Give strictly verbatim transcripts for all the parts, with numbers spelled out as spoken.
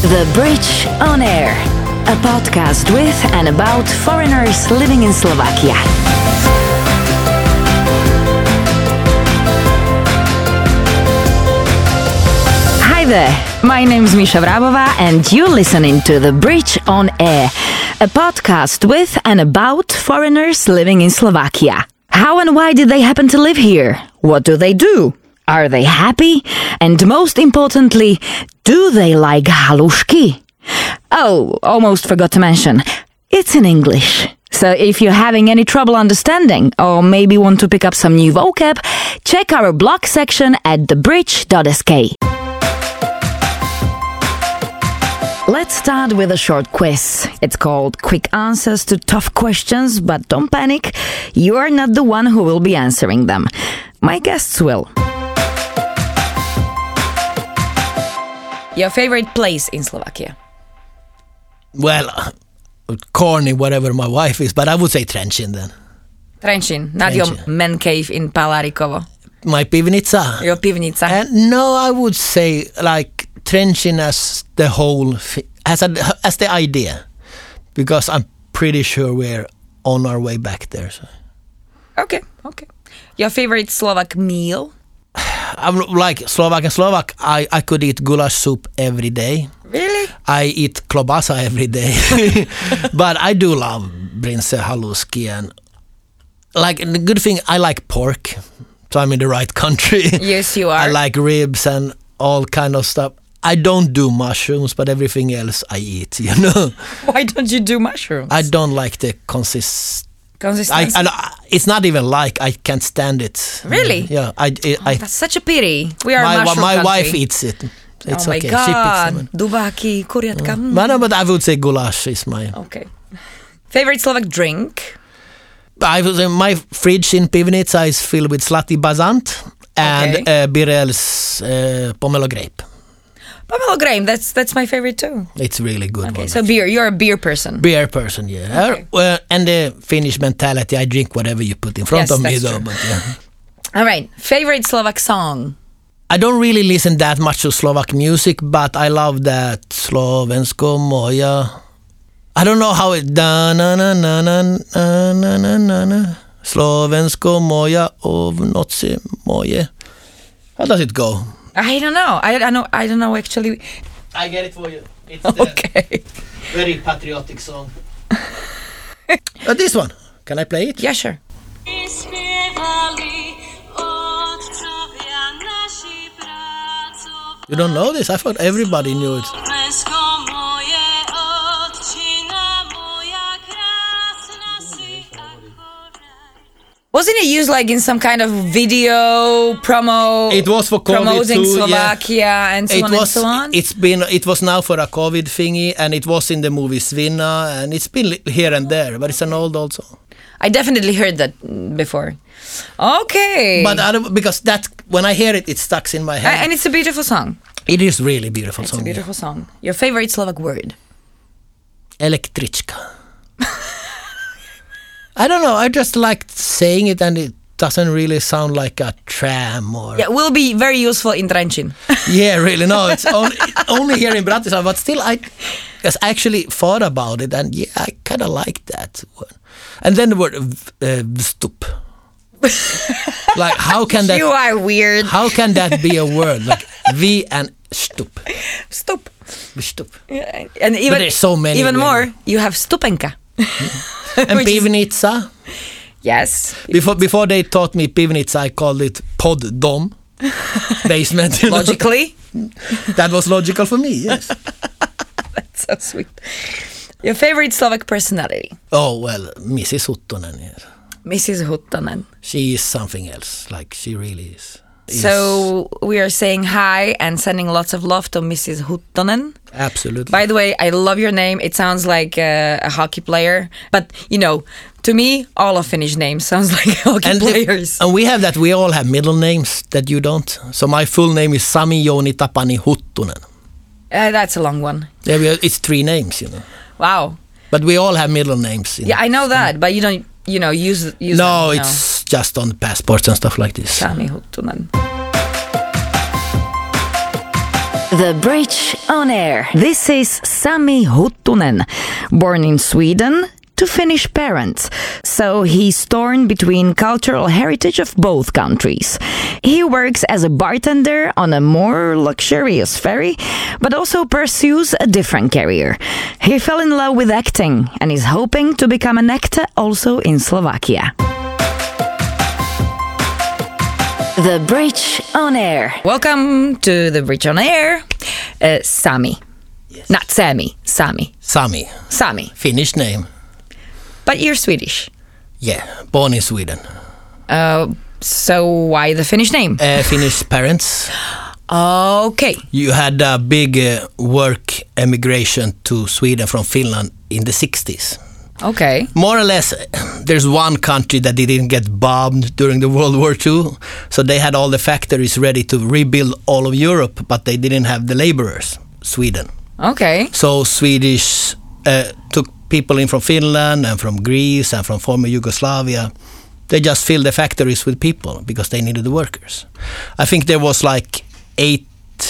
The Bridge on Air, a podcast with and about foreigners living in Slovakia. Hi there, my name's Misha Vrabova and you're listening to The Bridge on Air, a podcast with and about foreigners living in Slovakia. How and why did they happen to live here? What do they do? Are they happy? And most importantly, do they like halušky? Oh, almost forgot to mention, it's in English. So if you're having any trouble understanding or maybe want to pick up some new vocab, check our blog section at the bridge dot s k. Let's start with a short quiz. It's called Quick Answers to Tough Questions, but don't panic. You are not the one who will be answering them. My guests will. Your favorite place in Slovakia? Well, uh, corny, whatever my wife is, but I would say Trenčín then. Trenčín, not your man cave in Palárikovo. My pivnica. Your pivnica. Uh, no, I would say like Trenčín as the whole, as, a, as the idea, because I'm pretty sure we're on our way back there. So. Okay, okay. Your favorite Slovak meal? I'm like Slovak and Slovak. I, I could eat goulash soup every day. Really? I eat klobasa every day. But I do love brinse, halušky, and like the good thing, I like pork. So I'm in the right country. Yes, you are. I like ribs and all kind of stuff. I don't do mushrooms, but everything else I eat, you know. Why don't you do mushrooms? I don't like the consist. Consistency. I, I, it's not even like I can't stand it. Really? Yeah. I, I, oh, that's such a pity. We are my, a mushroom My country. wife eats it. It's oh my okay. God. Dubáky, kuriatka. Mm. But, no, but I would say goulash is my... Okay. Favorite Slovak drink? I would say my fridge in Pivnica is filled with Zlatý bazant and okay. uh, Birel's uh, pomelo grape. Pomelo grape, that's that's my favorite too. It's really good. Okay, one, so actually. beer, you're a beer person. Beer person, yeah. Okay. Uh, well, and the Finnish mentality, I drink whatever you put in front yes, of me though. True. But, yeah. All right, favorite Slovak song? I don't really listen that much to Slovak music, but I love that Slovensko moja. I don't know how it da na na na na na na na na na Slovensko moja of noci moje. How does it go? I don't know. I don't know. I don't know actually. I get it for you. It's okay. Very patriotic song. uh, this one. Can I play it? Yeah, sure. You don't know this? I thought everybody knew it. Wasn't it used like in some kind of video promo? It was for COVID promoting too, Slovakia yeah. and so it on was, and so on. It's been. It was now for a COVID thingy, and it was in the movie Svinna, and it's been here and there, but it's an old old song. I definitely heard that before. Okay. But I don't, because that when I hear it, it stuck in my head. And it's a beautiful song. It is really beautiful it's song. It's a beautiful yeah. song. Your favorite Slovak word? Električka. I don't know. I just like saying it, and it doesn't really sound like a tram or. Yeah, will be very useful in Trenčín. Yeah, really. No, it's only, only here in Bratislava, but still, I, because I actually thought about it, and yeah, I kind of like that word. And then the word uh, vstup. Like, how can that? You are weird. How can that be a word? Like V and stup. Stup. Stup. Yeah, and even but there's so many. Even really. more, you have stupenka. And pivnica. Yes. Before before they taught me pivnica, I called it poddom. Basement. You Logically. Know? That was logical for me. Yes. That's so sweet. Your favorite Slovak personality? Oh well, Missus Huttunen. Yes. Missus Huttunen. She is something else. Like she really is. So we are saying hi and sending lots of love to Missus Huttunen. Absolutely. By the way, I love your name. It sounds like uh, a hockey player, but you know, to me, all of Finnish names sounds like hockey and players. The, and we have that. We all have middle names that you don't. So my full name is Sami Jouni Tapani Huttunen. Uh, that's a long one. Yeah, we are, it's three names, you know. Wow. But we all have middle names. Yeah, know. I know that, but you don't. You know, use use. No, them, it's no. just on passports and stuff like this. Sami Huttunen. The Bridge on Air. This is Sami Huttunen, born in Sweden to Finnish parents, so he's torn between cultural heritage of both countries. He works as a bartender on a more luxurious ferry, but also pursues a different career. He fell in love with acting and is hoping to become an actor also in Slovakia. The Bridge on Air. Welcome to The Bridge on Air, uh, Sami. Yes. Not Sami, Sami. Sami. Sami. Finnish name. But you're Swedish. Yeah, born in Sweden. Uh, so why the Finnish name? Uh, Finnish parents. Okay. You had a big uh, work emigration to Sweden from Finland in the sixties. Okay. More or less, there's one country that didn't get bombed during the World War Two, so they had all the factories ready to rebuild all of Europe, but they didn't have the laborers, Sweden. Okay. So Swedish uh, took people in from Finland and from Greece and from former Yugoslavia. They just filled the factories with people because they needed the workers. I think there was like eight...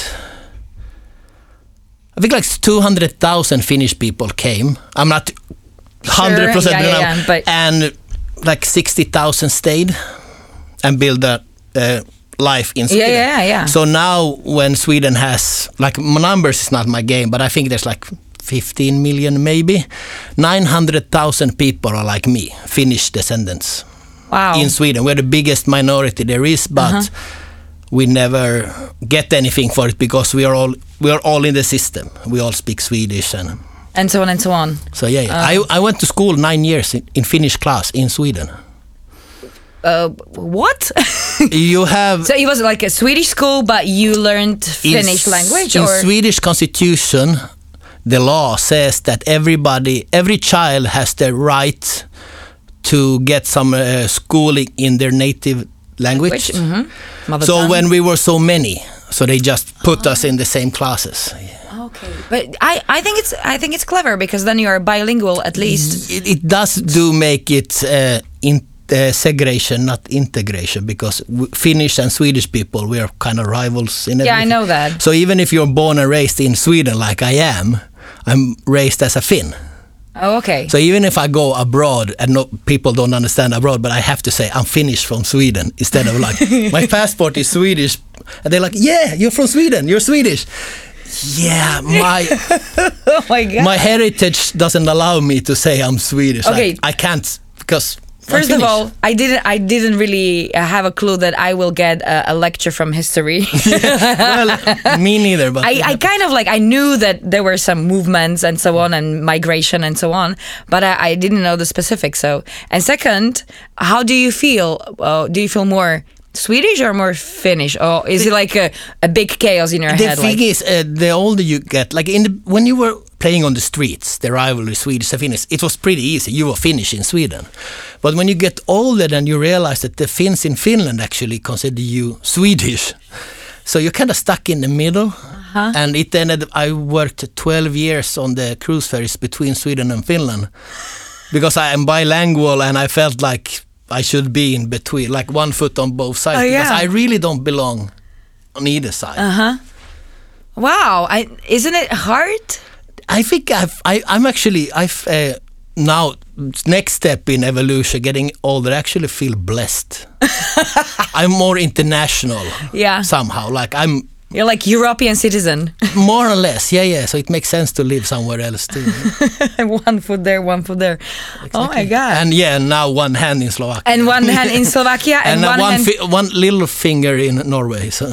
I think like two hundred thousand Finnish people came. I'm not... one hundred percent Sure, yeah, yeah, yeah, but and like sixty thousand stayed and built a uh, life in Sweden. Yeah, yeah, yeah. So now when Sweden has, like, numbers is not my game, but I think there's like fifteen million maybe, nine hundred thousand people are like me, Finnish descendants. Wow. In Sweden. We're the biggest minority there is, but Uh-huh. we never get anything for it because we are all we are all in the system. We all speak Swedish and And so on and so on. so yeah, yeah. Uh, I I went to school nine years in, in Finnish class in Sweden. Uh, what? You have So it was like a Swedish school, but you learned Finnish in, language? in or Swedish constitution, the law says that everybody, every child has the right to get some uh, schooling in their native language. Mm-hmm. Mother So tongue. when we were so many, so they just put oh. us in the same classes. Okay, but I, I think it's I think it's clever because then you are bilingual at least. It, it does do make it uh, in uh, segregation, not integration, because w- Finnish and Swedish people, we are kind of rivals in everything. Yeah, I know that. So even if you're born and raised in Sweden like I am, I'm raised as a Finn. Oh, okay. So even if I go abroad and no, people don't understand abroad, but I have to say I'm Finnish from Sweden instead of like my passport is Swedish, and they're like, yeah, you're from Sweden, you're Swedish. Yeah, my oh my God. my heritage doesn't allow me to say I'm Swedish. Okay. I, I can't because First of all, I didn't. I didn't really have a clue that I will get a, a lecture from history. Well, me neither. But I, I kind of like I knew that there were some movements and so on and migration and so on, but I, I didn't know the specifics. So, and second, how do you feel? Uh, do you feel more Swedish or more Finnish, or is it like a, a big chaos in your the head? thing like? is, uh, the older you get, like in the, when you were playing on the streets, the rivalry Swedish and Finnish, it was pretty easy. You were Finnish in Sweden. But when you get older, then you realize that the Finns in Finland actually consider you Swedish. So you're kind of stuck in the middle. Uh-huh. And it ended, I worked twelve years on the cruise ferries between Sweden and Finland because I am bilingual and I felt like I should be in between, like one foot on both sides, oh, because yeah. I really don't belong on either side. Uh-huh. Wow. I, isn't it hard? I think I've, I, I'm actually, I've uh, now, next step in evolution, getting older, I actually feel blessed. I'm more international Yeah. somehow. Like I'm... You're like European citizen. More or less, yeah, yeah. So it makes sense to live somewhere else too. One foot there, one foot there. Exactly. Oh my God. And yeah, now one hand in Slovakia. And one hand in Slovakia and, and one, one, hand... fi- one little finger in Norway. So.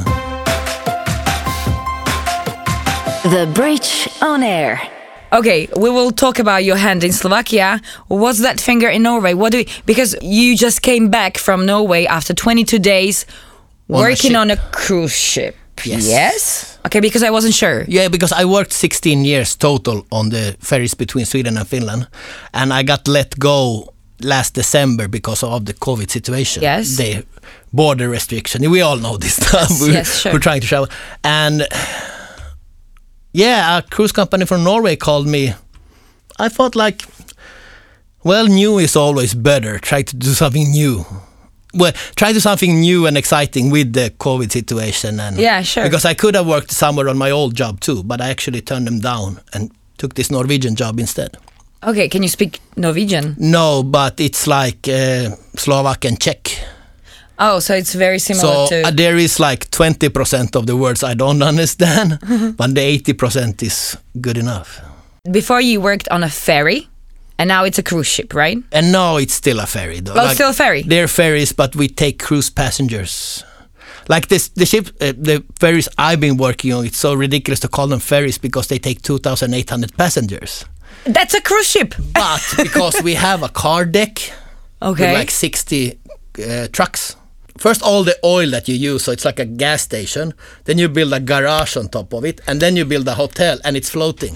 The Bridge on Air. Okay, we will talk about your hand in Slovakia. What's that finger in Norway? What do we, because you just came back from Norway after twenty-two days working on a cruise ship. Yes. Yes? Okay, because I wasn't sure. Yeah, because I worked sixteen years total on the ferries between Sweden and Finland, and I got let go last December because of the COVID situation. Yes. The border restriction. We all know this stuff. Yes, we're, yes, sure. we're trying to travel. And yeah, a cruise company from Norway called me. I thought like, well, new is always better. Try to do something new. well, try to something new and exciting with the COVID situation. And Yeah, sure. Because I could have worked somewhere on my old job too, but I actually turned them down and took this Norwegian job instead. Okay, can you speak Norwegian? No, but it's like uh, Slovak and Czech. Oh, so it's very similar So to... uh, there is like twenty percent of the words I don't understand, but the eighty percent is good enough. Before you worked on a ferry, and now it's a cruise ship, right? And no, it's still a ferry though. Oh, it's still a ferry? They're ferries, but we take cruise passengers. Like this, the ship, uh, the ferries I've been working on, it's so ridiculous to call them ferries because they take two thousand eight hundred passengers. That's a cruise ship! But because we have a car deck Okay. with like sixty uh, trucks. First, all the oil that you use, so it's like a gas station. Then you build a garage on top of it, and then you build a hotel, and it's floating.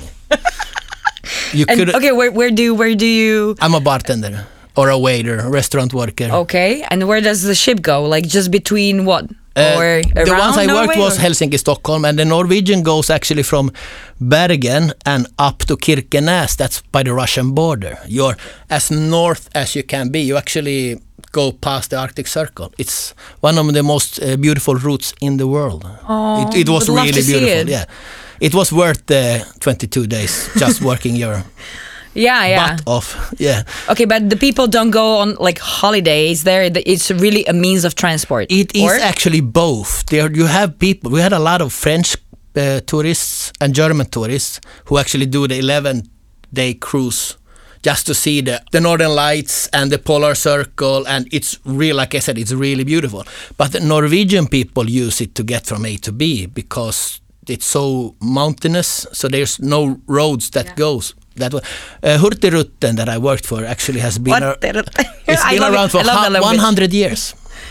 you And, could. okay, where, where do where do you... I'm a bartender or a waiter, a restaurant worker. Okay, and where does the ship go? Like just between what? Uh, or the around ones I Norway, worked was or? Helsinki, Stockholm, and the Norwegian goes actually from Bergen and up to Kirkenes. That's by the Russian border. You're as north as you can be. You actually go past the Arctic Circle. It's one of the most uh, beautiful routes in the world. Oh, it, it was would love really to see beautiful. it. Yeah, it was worth the twenty-two days just working your Yeah, yeah. butt off. Yeah. Okay, but the people don't go on like holidays there. It's really a means of transport. It is or? actually both. There you have people. We had a lot of French uh, tourists and German tourists who actually do the eleven-day cruise just to see the, the Northern Lights and the Polar Circle, and it's real. Like I said, it's really beautiful. But the Norwegian people use it to get from A to B because it's so mountainous. So there's no roads that Yeah. goes that way. Uh, Hurtigruten that I worked for actually has been What? ar- the- it's I been love around it. for I love that hu- language. one hundred years.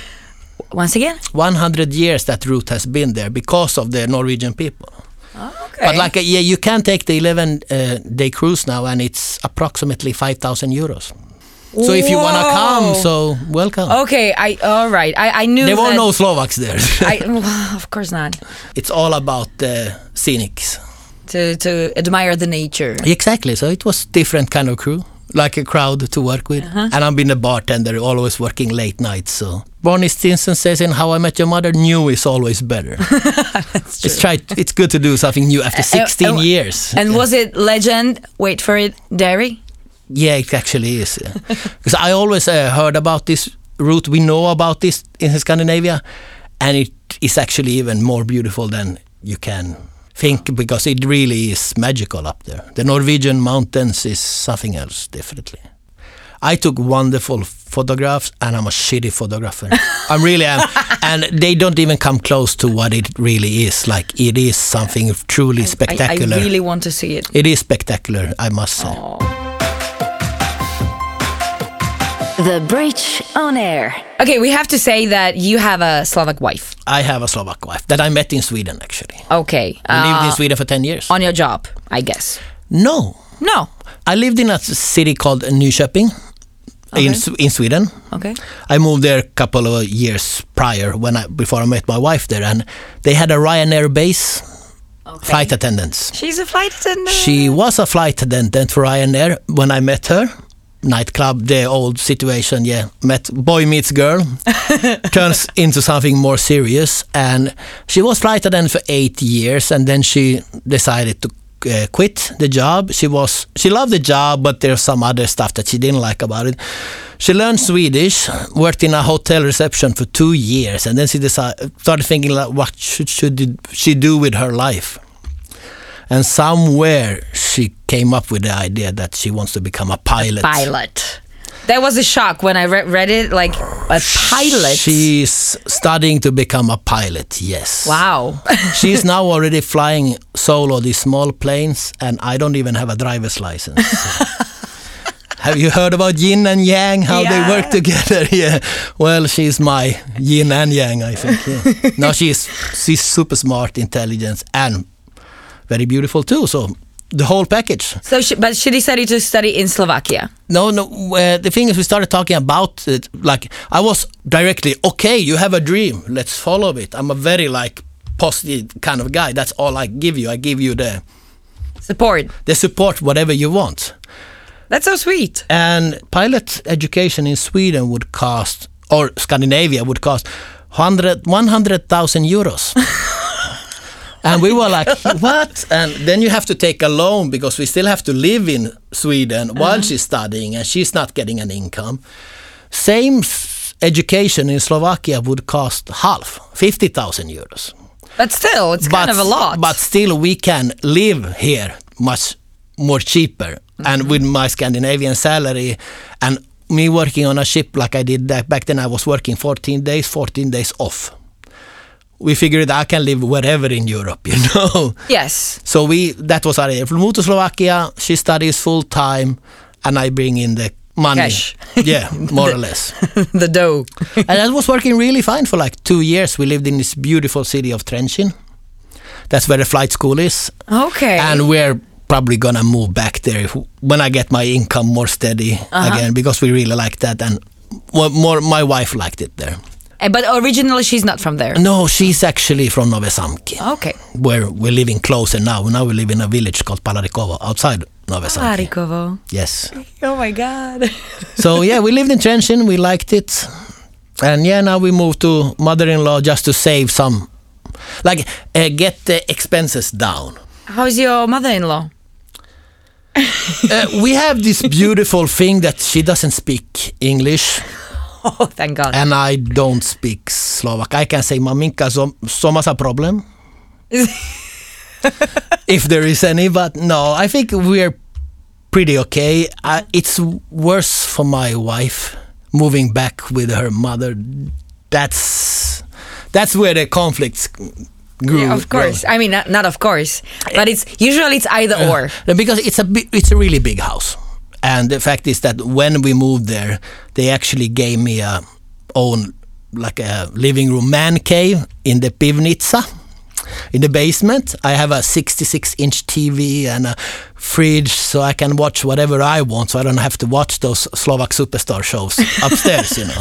Once again? one hundred years that route has been there because of the Norwegian people. Oh, okay. But like, uh, yeah, you can take the eleven-day cruise now, and it's approximately five thousand euros. So if you want to come, Whoa. so welcome. Okay, I all right. I, I knew There were that no Slovaks there. I, well, of course not. It's all about the scenics. To to admire the nature. Exactly. So it was different kind of crew, like a crowd to work with. Uh-huh. And I've been a bartender, always working late nights. So Barney Stinson says in How I Met Your Mother, new is always better. That's true. It's try. It's good to do something new after sixteen uh, years. And Yeah. was it legend? Wait for it, dairy. Yeah, it actually is. Because I always uh, heard about this route. We know about this in Scandinavia, and it is actually even more beautiful than you can think, because it really is magical up there. The Norwegian mountains is something else, definitely. I took wonderful photographs, and I'm a shitty photographer. I really am. And they don't even come close to what it really is. Like, it is something truly I, spectacular. I really want to see it. It is spectacular, I must say. Oh. The Bridge on Air. Okay, we have to say that you have a Slovak wife. I have a Slovak wife that I met in Sweden, actually. Okay. I lived in uh, Sweden for ten years. on your job, I guess. No. No. I lived in a city called Nyköping in, Okay. S- in Sweden. Okay. I moved there a couple of years prior when I before I met my wife there, and they had a Ryanair base, Okay. flight attendants. She's a flight attendant. She was a flight attendant for Ryanair when I met her. Nightclub, the old situation, yeah. Met boy meets girl, turns into something more serious, and she was flight attendant for eight years, and then she decided to uh, quit the job. She was she loved the job, but there's some other stuff that she didn't like about it. She learned Swedish, worked in a hotel reception for two years, and then she decided, started thinking, like, what should, should she do with her life? And somewhere she came up with the idea that she wants to become a pilot. Pilot. That was a shock when I re- read it. Like a pilot. She's studying to become a pilot, yes. Wow. She's now already flying solo these small planes, and I don't even have a driver's license. So. Have you heard about yin and yang, how Yeah. they work together? Yeah. Well, she's my yin and yang, I think. Yeah. No, she's she's super smart, intelligent, and very beautiful too. So the whole package. So, she, but she decided to study in Slovakia. No, no. Uh, the thing is, we started talking about it. Like, I was directly, okay, you have a dream, let's follow it. I'm a very like positive kind of guy. That's all I give you. I give you the Support. the support, whatever you want. That's so sweet. And pilot education in Sweden would cost or Scandinavia would cost one hundred thousand euros. And we were like, what? And then you have to take a loan because we still have to live in Sweden uh-huh. while she's studying and she's not getting an income. Same f- education in Slovakia would cost half, fifty thousand euros. But still, it's but, kind of a lot. But still, we can live here much more cheaper. Mm-hmm. And with my Scandinavian salary and me working on a ship like I did that back then, I was working fourteen days, fourteen days off. We figured I can live wherever in Europe, you know. Yes. So we that was our idea. We moved to Slovakia. She studies full time, and I bring in the money. Cash. Yeah, more the, or less. The dough. And that was working really fine for like two years. We lived in this beautiful city of Trenčín. That's where the flight school is. Okay. And we're probably gonna move back there if, when I get my income more steady uh-huh. again, because we really like that, and more my wife liked it there. But originally she's not from there? No, she's actually from Novi Samki. Okay. Where we're living closer now. Now we live in a village called Palarikovo, outside Novi Samki. Palarikovo. Yes. Oh my God. So yeah, we lived in Trenčín, we liked it. And yeah, now we moved to mother-in-law just to save some, like uh, get the expenses down. How's your mother-in-law? uh, we have this beautiful thing that she doesn't speak English. Oh, thank God. And I don't speak Slovak. I can say maminka som a problem. If there is any, but no, I think we're pretty okay. Uh, it's worse for my wife moving back with her mother. That's that's where the conflicts grew. Yeah, of course. Grow. I mean, not, not of course, but it's usually it's either uh, or. Because it's a it's a really big house. And the fact is that when we moved there, they actually gave me a own, like a living room man cave in the pivnitsa, in the basement. I have a sixty-six inch T V and a fridge, so I can watch whatever I want, so I don't have to watch those Slovak Superstar shows upstairs, you know.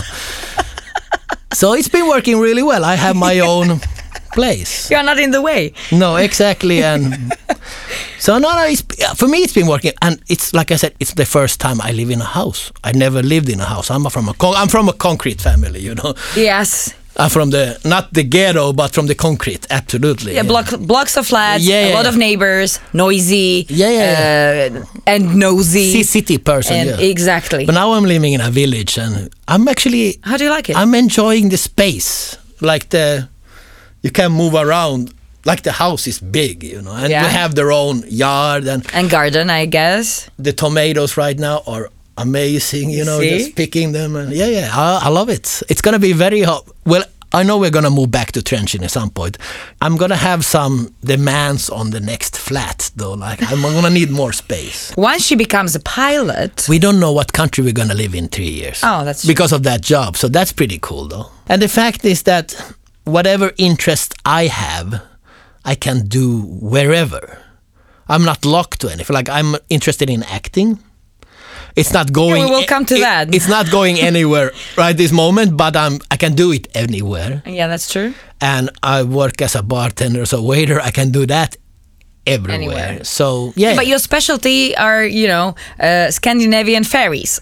So it's been working really well. I have my own place. You're not in the way. No, exactly. And so no, no. It's, for me, it's been working, and it's like I said, it's the first time I live in a house. I never lived in a house. I'm from a con- I'm from a concrete family, you know. Yes. I'm from the not the ghetto, but from the concrete. Absolutely. Yeah, yeah. Block, blocks of flats. Yeah, yeah, a lot yeah. of neighbors, noisy. Yeah, yeah, yeah. Uh, and nosy. C- city person. And yeah. Exactly. But now I'm living in a village, and I'm actually. How do you like it? I'm enjoying the space, like the. You can move around, like the house is big, you know, and yeah. we have their own yard and and garden, I guess. The tomatoes right now are amazing, you know, See? just picking them, and yeah, yeah, I, I love it. It's gonna be very hot. Well, I know we're gonna move back to Trenčín at some point. I'm gonna have some demands on the next flat, though. Like I'm gonna need more space. Once she becomes a pilot, we don't know what country we're gonna live in three years. Oh, that's true. Because of that job. So that's pretty cool, though. And the fact is that whatever interest I have, I can do wherever. I'm not locked to anything. Like I'm interested in acting. It's not going. Yeah, we will come to it, that. It's not going anywhere right this moment, but I'm. I can do it anywhere. Yeah, that's true. And I work as a bartender, as a waiter. I can do that everywhere. Anywhere. So yeah. yeah. But your specialty are, you know, uh, Scandinavian fairies.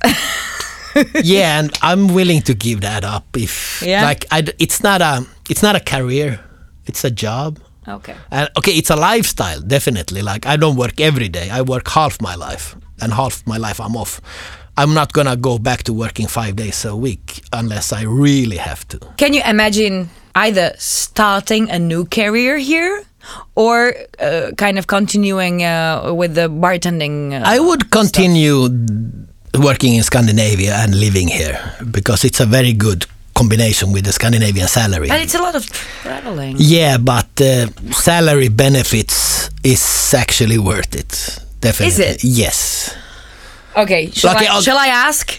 Yeah, and I'm willing to give that up if yeah. like I, it's not a it's not a career, it's a job. Okay. And okay, it's a lifestyle, definitely. Like I don't work every day. I work half my life, and half my life I'm off. I'm not gonna go back to working five days a week unless I really have to. Can you imagine either starting a new career here or uh, kind of continuing uh, with the bartending? Uh, I would continue stuff. Working in Scandinavia and living here because it's a very good combination with the Scandinavian salary. And it's a lot of traveling. Yeah, but uh, salary benefits is actually worth it. Definitely. Is it? Yes. Okay, shall, okay, I, shall I ask?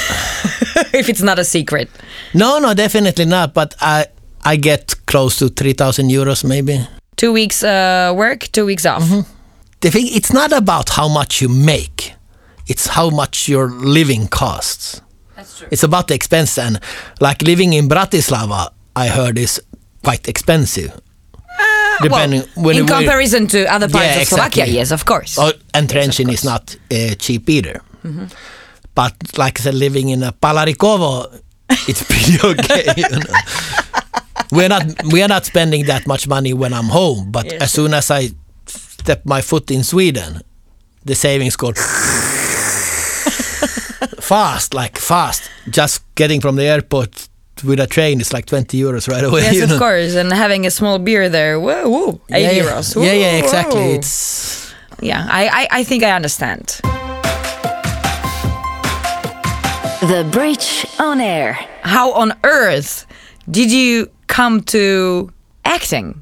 If it's not a secret. No, no, definitely not. But I I get close to three thousand euros maybe. Two weeks uh, work, two weeks off. Mm-hmm. The thing, it's not about how much you make. It's how much your living costs. That's true. It's about the expense, and like living in Bratislava, I heard is quite expensive. Uh, Depending well, when in it, comparison to other parts yeah, of Slovakia, exactly. yes, of course. Oh, and yes, Trenčín is not uh, cheap either. Mm-hmm. But like I said, living in a Palarikovo, it's pretty okay. You know? We're not we are not spending that much money when I'm home, but Yes. as soon as I step my foot in Sweden, the savings go fast, like fast. Just getting from the airport with a train is like twenty euros right away. Yes, you of know? course, and having a small beer there, whoa, whoa eight yeah, euros. Yeah, yeah, Whoa, exactly. whoa. It's Yeah, I, I, I think I understand. The Bridge on Air. How on earth did you come to acting?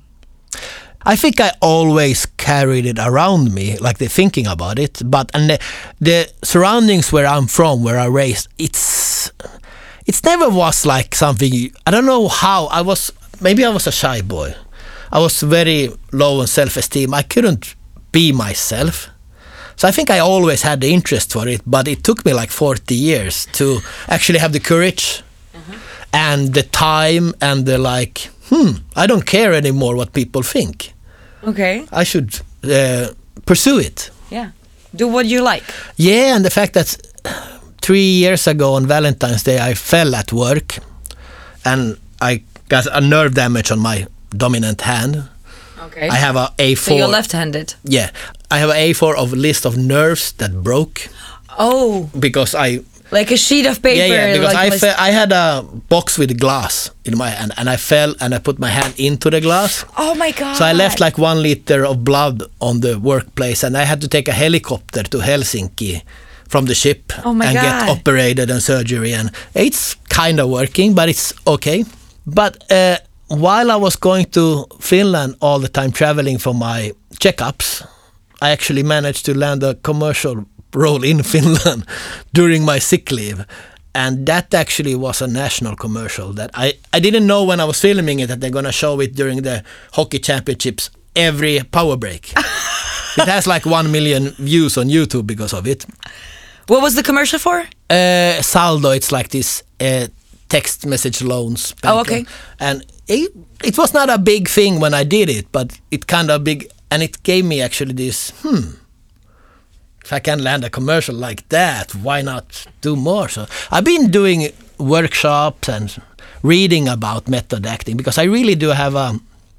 I think I always carried it around me, like the thinking about it. But and the, the surroundings where I'm from, where I raised, it's it's never was like something. I don't know how I was. Maybe I was a shy boy. I was very low on self-esteem. I couldn't be myself. So I think I always had the interest for it, but it took me like forty years to actually have the courage mm-hmm. and the time and the like, hmm, I don't care anymore what people think. Okay. I should uh, pursue it. Yeah. Do what you like. Yeah, and the fact that three years ago on Valentine's Day I fell at work and I got a nerve damage on my dominant hand. Okay. I have a A four. So you're left-handed. Yeah. I have an A four of a list of nerves that broke. Oh. Because I... Like a sheet of paper. Yeah, yeah, because like I, fe- I had a box with glass in my hand and I fell and I put my hand into the glass. Oh my God. So I left like one liter of blood on the workplace and I had to take a helicopter to Helsinki from the ship oh my and God. get operated and surgery. And it's kind of working, but it's okay. But uh, while I was going to Finland all the time traveling for my checkups, I actually managed to land a commercial role in Finland during my sick leave. And that actually was a national commercial that I, I didn't know when I was filming it that they're going to show it during the hockey championships every power break. It has like one million views on YouTube because of it. What was the commercial for? Uh, Saldo, it's like this uh, text message loans. Oh, okay. And it, it was not a big thing when I did it, but it kind of big, and it gave me actually this, hmm, if I can land a commercial like that, why not do more? So I've been doing workshops and reading about method acting because I really do have a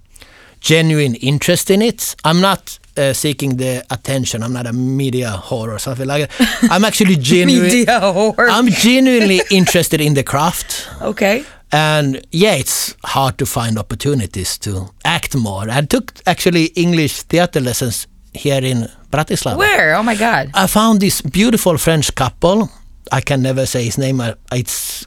genuine interest in it. I'm not uh, seeking the attention. I'm not a media whore or something like that. I'm actually genuine. Media whore. I'm genuinely interested in the craft. Okay. And yeah, it's hard to find opportunities to act more. I took actually English theater lessons here in Bratislava. Where? Oh my God. I found this beautiful French couple. I can never say his name. It's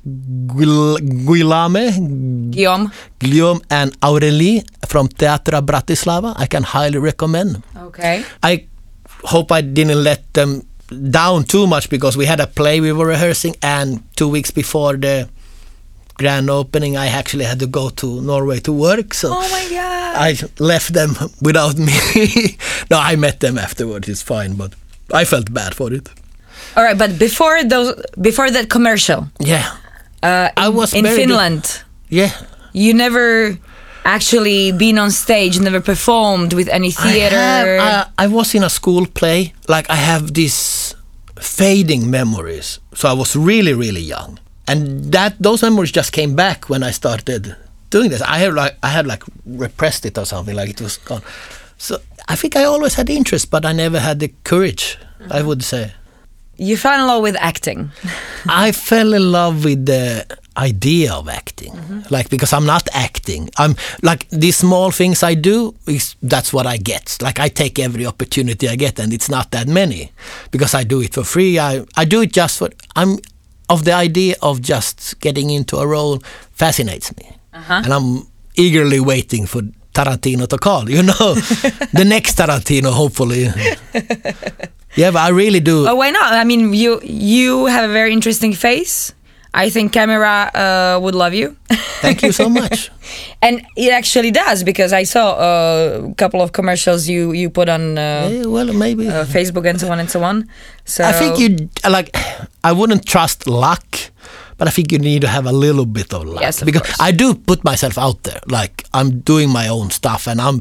Guillaume, Guillaume. Guillaume and Aurélie from Teatra Bratislava. I can highly recommend. Okay. I hope I didn't let them down too much because we had a play we were rehearsing and two weeks before the grand opening I actually had to go to Norway to work. So oh my God. I left them without me. No, I met them afterwards. It's fine, but I felt bad for it. All right, but before those, before that commercial, Yeah. uh, I in, was in very Finland, Yeah. you never actually been on stage, never performed with any theater. I, have, I, I was in a school play. Like I have these fading memories. So I was really, really young. And that those memories just came back when I started doing this. I had like I had like repressed it or something, like it was gone. So I think I always had interest, but I never had the courage, mm-hmm. I would say. You fell in love with acting. I fell in love with the idea of acting, mm-hmm. like because I'm not acting. I'm like these small things I do. Is that's what I get. Like I take every opportunity I get, and it's not that many because I do it for free. I I do it just for I'm. Of the idea of just getting into a role fascinates me. Uh-huh. And I'm eagerly waiting for Tarantino to call, you know, the next Tarantino, hopefully. Yeah, but I really do. Oh, why not? I mean, you you have a very interesting face. I think camera uh, would love you. Thank you so much. And it actually does, because I saw a couple of commercials you, you put on uh, yeah, well, maybe. Uh, Facebook and so on and so on. So I think you, like, I wouldn't trust luck, but I think you need to have a little bit of luck. Yes, of because course. I do put myself out there. Like, I'm doing my own stuff and I'm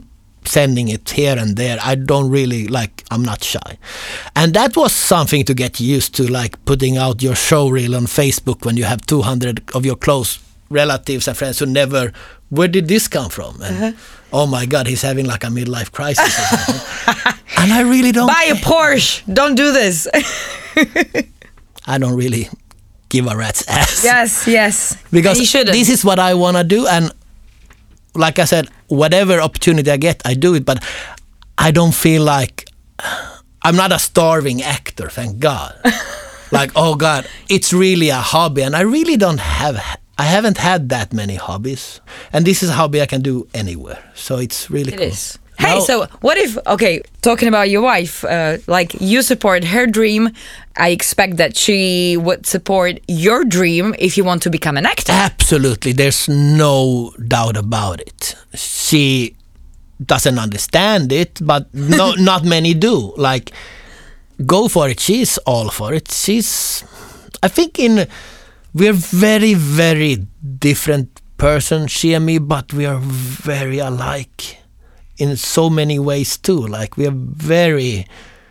sending it here and there. I don't really like, I'm not shy. And that was something to get used to, like putting out your show reel on Facebook when you have two hundred of your close relatives and friends who never, where did this come from? And uh-huh. oh my God, he's having like a midlife crisis or something. And I really don't buy a Porsche. Don't do this. I don't really give a rat's ass. Yes, yes. Because you shouldn't. This is what I want to do, and like I said, whatever opportunity I get, I do it, but I don't feel like I'm not a starving actor, thank God. Like, oh God, it's really a hobby, and I really don't have, I haven't had that many hobbies, and this is a hobby I can do anywhere, so it's really it cool. It is. Hey, now, so what if, okay, talking about your wife, uh, like you support her dream, I expect that she would support your dream if you want to become an actor. Absolutely, there's no doubt about it. She doesn't understand it, but no, not many do. Like, go for it. She's all for it. She's, I think in, we're very, very different person, she and me, but we are very alike in so many ways too. Like, we are very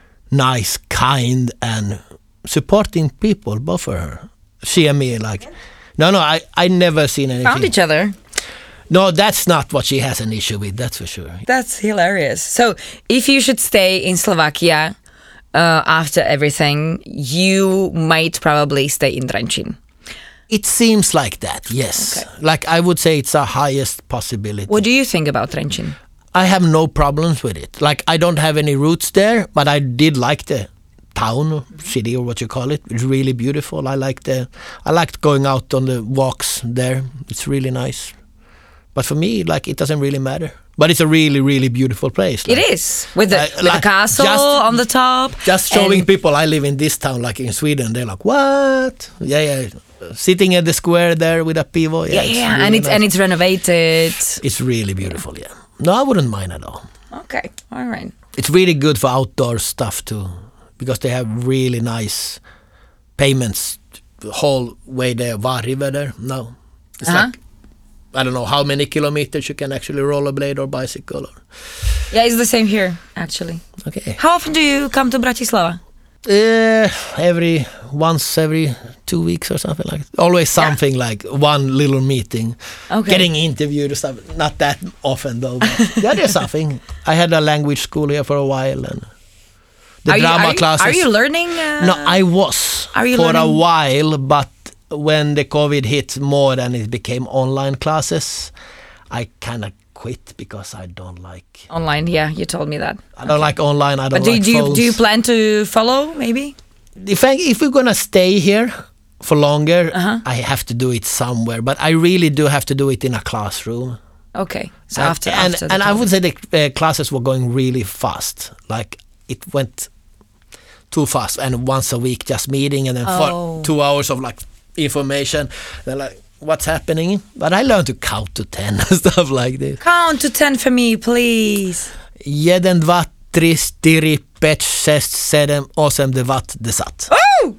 nice, kind, and supporting people, both of her. She and me, like, no, no, I, I never seen anything. Found each other. No, that's not what she has an issue with, that's for sure. That's hilarious. So, if you should stay in Slovakia uh, after everything, you might probably stay in Trenčín. It seems like that, yes. Okay. Like, I would say it's a highest possibility. What do you think about Trenčín? I have no problems with it. Like, I don't have any roots there, but I did like the town, city, or what you call it. It's really beautiful. I like the, I liked going out on the walks there. It's really nice. But for me, like, it doesn't really matter. But it's a really, really beautiful place. Like, it is. With the, like, with like the castle just, on the top. Just showing and people I live in this town, like in Sweden, they're like, what? Yeah, yeah. Sitting at the square there with a pivo. Yeah, Yeah, it's yeah. really and it's nice. and it's renovated. It's really beautiful, yeah. No, I wouldn't mind at all. Okay, all right. It's really good for outdoor stuff too, because they have really nice payments the whole way there. Var-River there. No, it's Uh-huh. like, I don't know how many kilometers you can actually rollerblade or bicycle. Or, Yeah, it's the same here, actually. okay. How often do you come to Bratislava? Uh, every once every two weeks or something like that. Always something like one little meeting. Okay. Getting interviewed or stuff. Not that often though. But yeah, there's something. I had a language school here for a while, and the are drama you, are classes. You, are you learning? Uh, No, I was are you for learning? a while, but when the COVID hit more and it became online classes, I kind of quit because I don't like Online, yeah, you told me that. I don't like online. I don't But do, like do, you, phones. do you plan to follow, maybe? If I, if we're gonna stay here for longer, Uh-huh. I have to do it somewhere. But I really do have to do it in a classroom. Okay, so and after, and, after the and I COVID. would say the uh, classes were going really fast. Like, it went too fast, and once a week just meeting, and then Oh. for two hours of like information. They're like, what's happening? But I learned to count to ten and stuff like this. Count to ten for me, please. Jeden, dva, tri, čtyři, pět, šest, sedm, osm, devět, deset. Oh!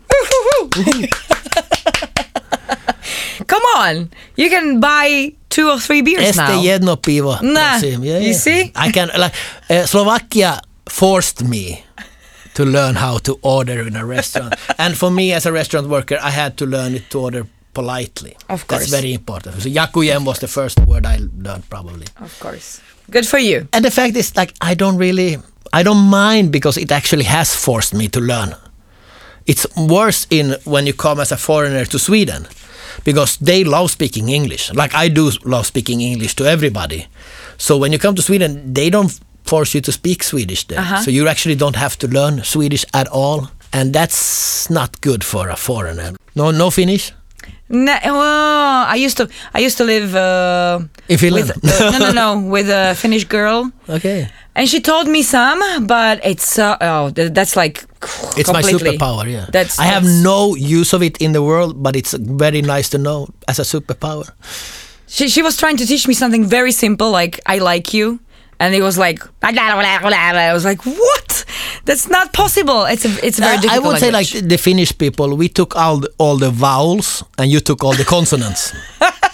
Come on, you can buy two or three beers Este now. jedno pivo. Nah, prosím. Yeah, you yeah. see? I can, like, uh, Slovakia forced me to learn how to order in a restaurant. And for me as a restaurant worker, I had to learn it to order politely. Of course. That's very important. So Jakujem was the first word I learned, probably. Of course. Good for you. And the fact is, like, I don't really, I don't mind because it actually has forced me to learn. It's worse in when you come as a foreigner to Sweden, because they love speaking English. Like, I do love speaking English to everybody. So when you come to Sweden, they don't force you to speak Swedish there. Uh-huh. So you actually don't have to learn Swedish at all. And that's not good for a foreigner. No, no Finnish? No, well, I used to I used to live uh, In Finland? with, uh, no no no with a Finnish girl, Okay. and she taught me some, but it's uh, oh th- that's like It's my completely. superpower, yeah. That's, I have that's- no use of it in the world, but it's very nice to know as a superpower. She she was trying to teach me something very simple, like I like you, and it was like I was like, what? That's not possible. It's a it's a very Uh, I difficult would say language. like the Finnish people, we took all the, all the vowels and you took all the consonants.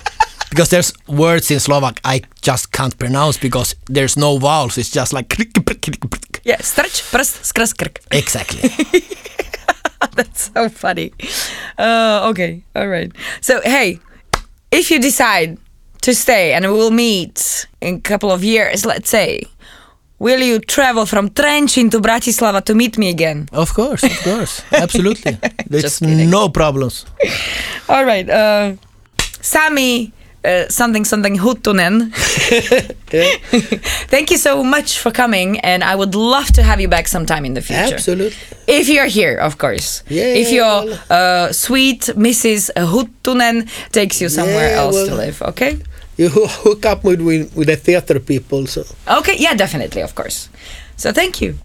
Because there's words in Slovak I just can't pronounce because there's no vowels. It's just like... Yeah, strč, prst, skrs, krk. Exactly. That's so funny. Uh, okay, all right. So, hey, if you decide to stay and we'll meet in a couple of years, let's say, will you travel from Trenčín to Bratislava to meet me again? Of course, of course. Absolutely. There's Just kidding. no problems. All right. Uh, Sami, uh, something, something Huttunen. Thank you so much for coming, and I would love to have you back sometime in the future. Absolutely. If you're here, of course. Yeah, if your well- uh, sweet Missus Huttunen takes you somewhere Yeah, else well- to live, okay? You hook up with, with, with the theater people, so... Okay, yeah, definitely, of course. So thank you.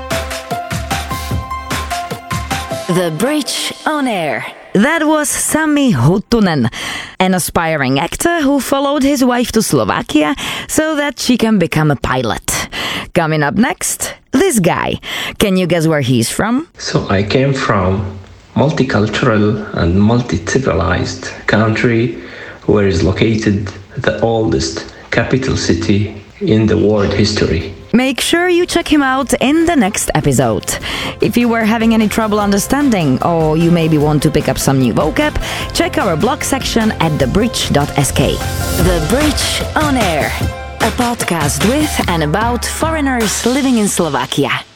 The Bridge on Air. That was Sami Huttunen, an aspiring actor who followed his wife to Slovakia so that she can become a pilot. Coming up next, this guy. Can you guess where he's from? So I came from multicultural and multi-civilized country where is located the oldest capital city in the world history. Make sure you check him out in the next episode. If you were having any trouble understanding or you maybe want to pick up some new vocab, check our blog section at the bridge dot s k. The Bridge on Air. A podcast with and about foreigners living in Slovakia.